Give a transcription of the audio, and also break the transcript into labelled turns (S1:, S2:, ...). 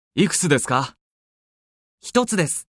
S1: いくつですか？
S2: 一つです。